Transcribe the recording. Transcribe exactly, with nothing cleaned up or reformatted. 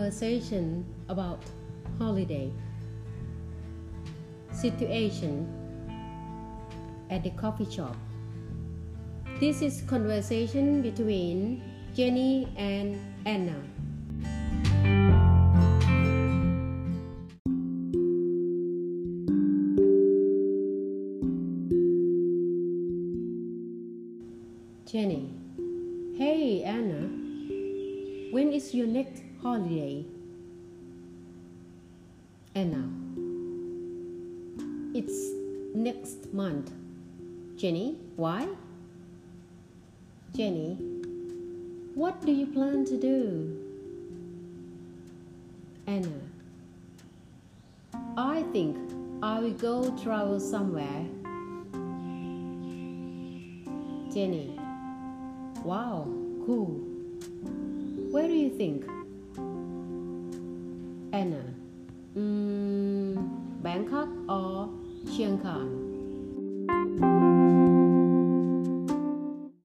conversation about holiday situation at the coffee shop. This is conversation between Jenny and Anna. Jenny: Hey Anna, when is your next holiday? Anna: It's next month. Jenny: Why? Jenny: What do you plan to do? Anna: I think I will go travel somewhere. Jenny: Wow, cool. Where do you think? Anna: mm, Bangkok or Chiang Mai?